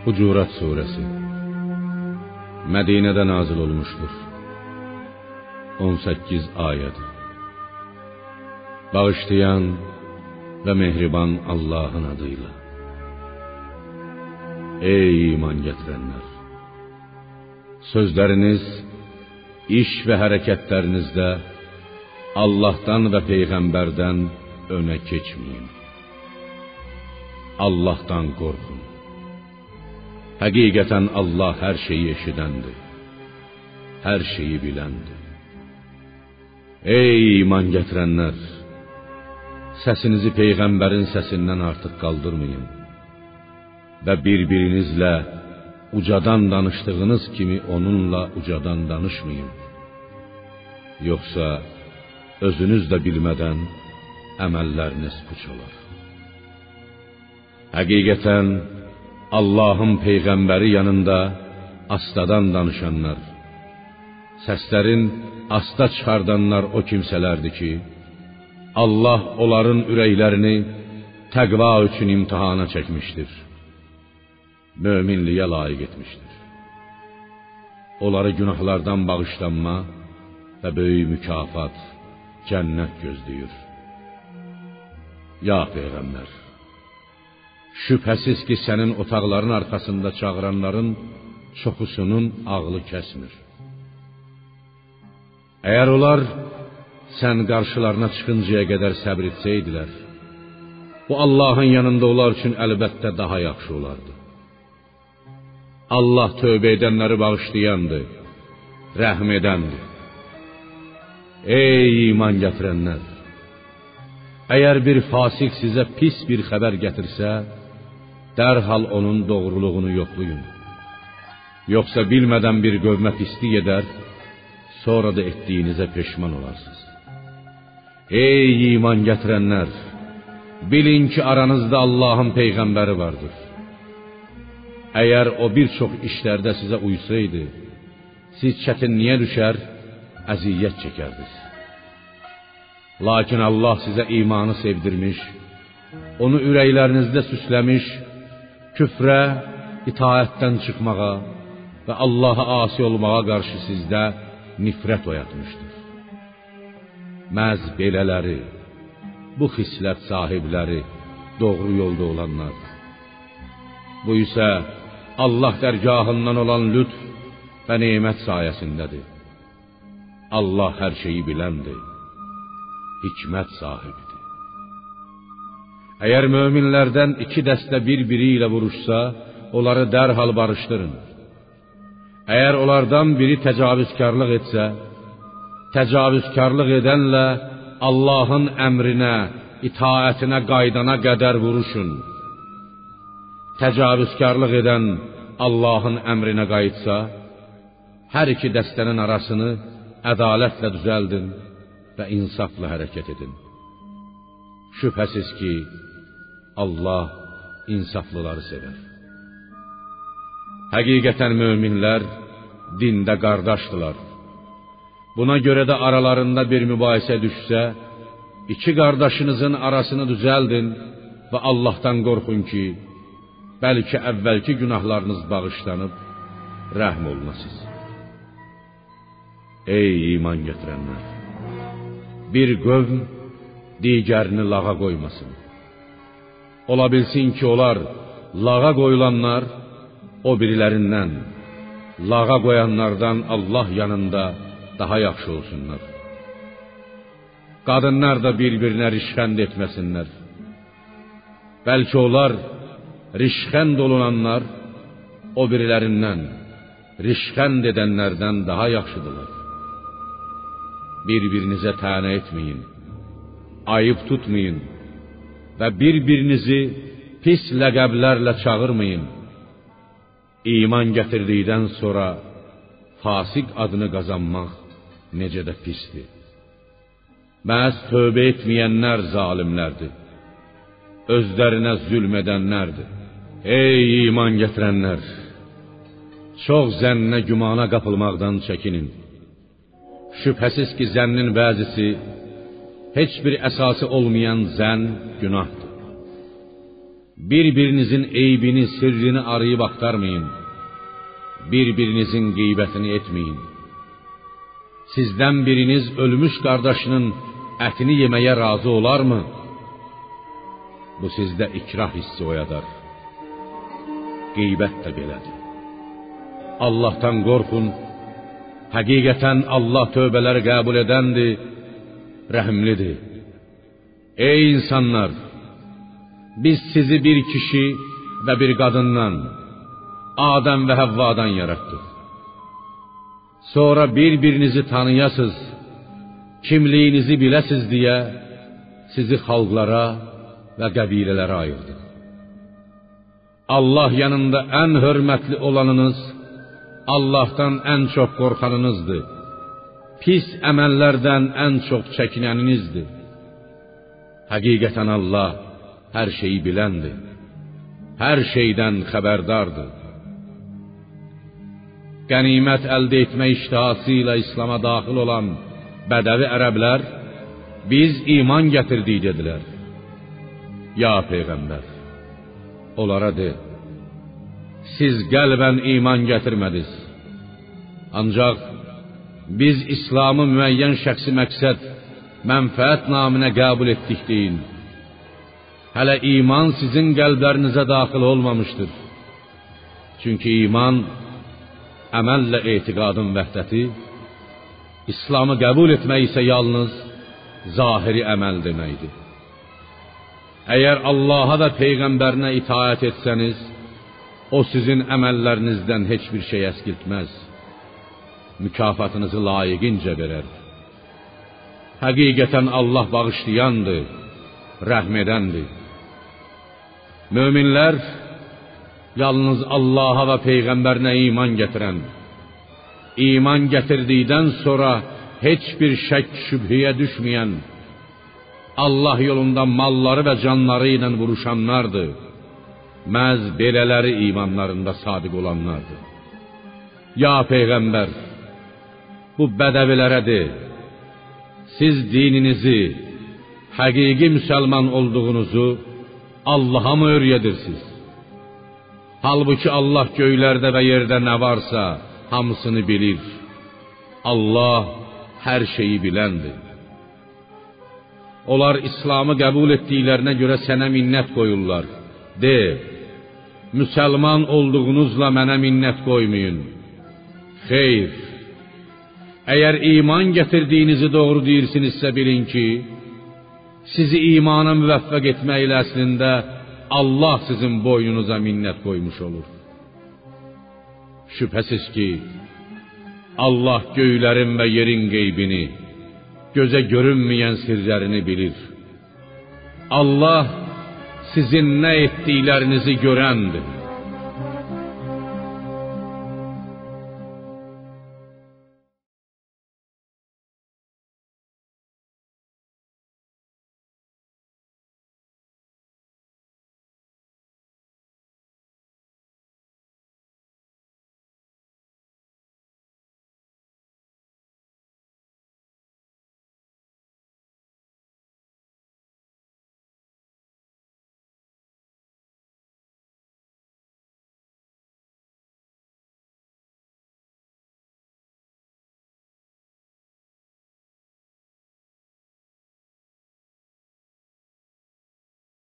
Hucurat suresi Mədinədə nazil olmuşdur. 18 ayəd. Bağışlayan və mehriban Allahın adıyla. Ey iman gətirənlər! Sözləriniz, iş və hərəkətlərinizdə Allahdan və Peyğəmbərdən önə keçməyin. Allahdan qorxun. Həqiqətən Allah hər şeyi eşidəndir, hər şeyi biləndir. Ey iman gətirənlər! Səsinizi Peyğəmbərin səsindən artıq qaldırmayın və bir-birinizlə ucadan danışdığınız kimi onunla ucadan danışmayın. Yoxsa özünüz də bilmədən əməlləriniz puç olar. Həqiqətən Allahın Peyğəmbəri yanında astadan danışanlar, səslərin asta çıxardanlar o kimsələrdir ki, Allah onların ürəklərini təqva üçün imtihana çəkmişdir, möminliyə layiq etmişdir. Onları günahlardan bağışlanma və böyük mükafat, cənnət gözləyir. Ya Peyğəmbər! Şübhəsiz ki, sənin otaqların arxasında çağıranların çoxusunun ağlı kəsmir. Əgər onlar sən qarşılarına çıxıncaya qədər səbr etsəydilər, bu Allahın yanında onlar üçün əlbəttə daha yaxşı olardı. Allah tövbə edənləri bağışlayandır, rəhm edəndir. Ey iman gətirənlər! Əgər bir fasik sizə pis bir xəbər gətirsə, dərhal onun doğruluğunu yoxlayın. Yoxsa bilmədən bir qövmə pislik edər, sonra da etdiyinizə peşman olarsınız. Ey iman gətirənlər! Bilin ki, aranızda Allahın Peyğəmbəri vardır. Əgər o bir çox işlərdə sizə uysaydı, siz çətinliyə düşər, əziyyət çəkərdiniz. Lakin Allah sizə imanı sevdirmiş, onu ürəklərinizdə süsləmiş, küfrə, itaətdən çıxmağa və Allaha asi olmağa qarşı sizdə nifrət oyatmışdır. Məhz belələri, bu xislət sahibləri doğru yolda olanlar. Bu isə Allah dərgahından olan lütf və nemət sayəsindədir. Allah hər şeyi biləndir, hikmət sahibidir. Əgər möminlərdən iki dəstə bir-biri ilə vuruşsa, onları dərhal barışdırın. Əgər onlardan biri təcavüzkarlıq etsə, təcavüzkarlıq edənlə Allahın əmrinə, itaətinə qaydana qədər vuruşun. Təcavüzkarlıq edən Allahın əmrinə qayıtsa, hər iki dəstənin arasını ədalətlə düzəldin və insafla hərəkət edin. Şübhəsiz ki, Allah insaflıları sevər. Həqiqətən möminlər dində qardaşdılar. Buna görə də aralarında bir mübahisə düşsə, iki qardaşınızın arasını düzəldin və Allahdan qorxun ki, bəlkə əvvəlki günahlarınız bağışlanıb, rəhm olunasınız. Ey iman gətirənlər! Bir qövm digərini lağa qoymasın. Ola bilsin ki, onlar lağa qoyulanlar o birilərindən, lağa qoyanlardan Allah yanında daha yaxşı olsunlar. Qadınlar da bir-birinə rişxənd etməsinlər. Bəlkə onlar rişxənd olunanlar o birilərindən, rişxənd edənlərdən daha yaxşıdırlar. Bir-birinizə tənə etməyin, ayıb tutmayın və bir-birinizi pis ləqəblərlə çağırmayın. İman gətirdikdən sonra fasik adını qazanmaq necə də pisdir. Məhz tövbə etməyənlər zalimlərdir, özlərinə zülm edənlərdir. Ey iman gətirənlər! Çox zənnə, gümana qapılmaqdan çəkinin. Şübhəsiz ki, zənnin bəzisi heç bir əsası olmayan zənn günahdır. Bir-birinizin eybini, sirrini arayıb axtarmayın. Bir-birinizin qeybətini etməyin. Sizdən biriniz ölmüş qardaşının ətini yeməyə razı olarmı? Bu sizdə ikrah hissi oyadar. Qeybət də belədir. Allah'tan qorxun. Həqiqətən Allah tövbələri qəbul edəndir, rəhimlidir. Ey insanlar! Biz sizi bir kişi və bir qadından, Adəm və Həvvadan yaratdıq. Sonra bir-birinizi tanıyasız, kimliyinizi biləsiz deyə sizi xalqlara və qəbilələrə ayırdıq. Allah yanında ən hörmətli olanınız, Allah'tan ən çox qorxanınızdır. Pis əməllərdən ən çox çəkinəninizdir. Həqiqətən Allah hər şeyi biləndir. Hər şeydən xəbərdardır. Qənimət əldə etmə iştihası ilə İslam'a daxil olan bədəvi ərəblər, biz iman gətirdik dedilər. Ya Peyğəmbər, onlara de, siz qəlbən iman gətirmədiniz. Ancaq biz İslam'ı müəyyən şəxsi məqsəd, mənfəət naminə qəbul etdik deyin. Hələ iman sizin qəlblərinizə daxil olmamışdır. Çünki iman, əməllə etiqadın vəhdəti, İslam'ı qəbul etmək isə yalnız zahiri əməl deməkdir. Əgər Allah'a və Peyğəmbərinə itaət etsəniz, o sizin əməllərinizdən heç bir şey əskiltməz. Mükafatınızı layiqincə verər. Həqiqətən Allah bağışlayandır, rəhm edəndir. Möminlər yalnız Allah'a və Peyğəmbərinə iman gətirən, iman gətirdikdən sonra heç bir şək şübhəyə düşməyən, Allah yolunda malları və canları ilə vuruşanlardır. Məhz belələri imanlarında sadiq olanlardır. Ya Peyğəmbər, bu bədəvilərə de, siz dininizi, həqiqi müsəlman olduğunuzu Allah'a mı öyrədirsiniz? Halbuki Allah göylərdə və yerdə nə varsa hamısını bilir. Allah hər şeyi biləndir. Onlar İslam'ı qəbul etdiklərinə görə sənə minnət qoyurlar. De, müsəlman olduğunuzla mənə minnət qoymayın. Xeyr, əgər iman gətirdiyinizi doğru deyirsinizsə bilin ki, sizi imana müvəffəq etməklə əslində Allah sizin boynunuza minnət qoymuş olur. Şübhəsiz ki, Allah göylərin və yerin qeybini, gözə görünməyən sirlərini bilir. Allah sizin nə etdiklərinizi görəndir.